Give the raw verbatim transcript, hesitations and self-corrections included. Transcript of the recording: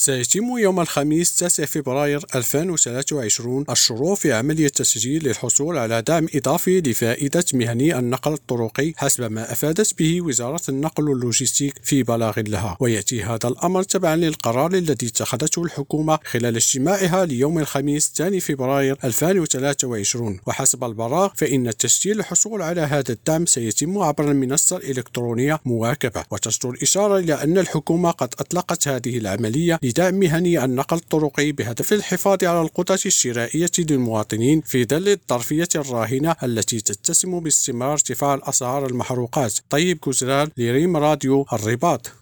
سيتم يوم الخميس تاسع فبراير ألفين وثلاثة وعشرين الشروع في عملية تسجيل للحصول على دعم إضافي لفائدة مهني النقل الطرقي حسب ما أفادت به وزارة النقل واللوجستيك في بلاغ لها، ويأتي هذا الأمر تبعا للقرار الذي اتخذته الحكومة خلال اجتماعها ليوم الخميس الثاني فبراير ألفين وثلاثة وعشرين. وحسب البلاغ فإن التسجيل للحصول على هذا الدعم سيتم عبر المنصة الإلكترونية مواكبة، وتصدر الإشارة إلى أن الحكومة قد أطلقت هذه العملية لدعم مهني النقل الطرقي بهدف الحفاظ على القدرة الشرائية للمواطنين في ظل الظرفية الراهنة التي تتسم باستمرار ارتفاع الأسعار المحروقات. طيب كوزرال لريم راديو الرباط.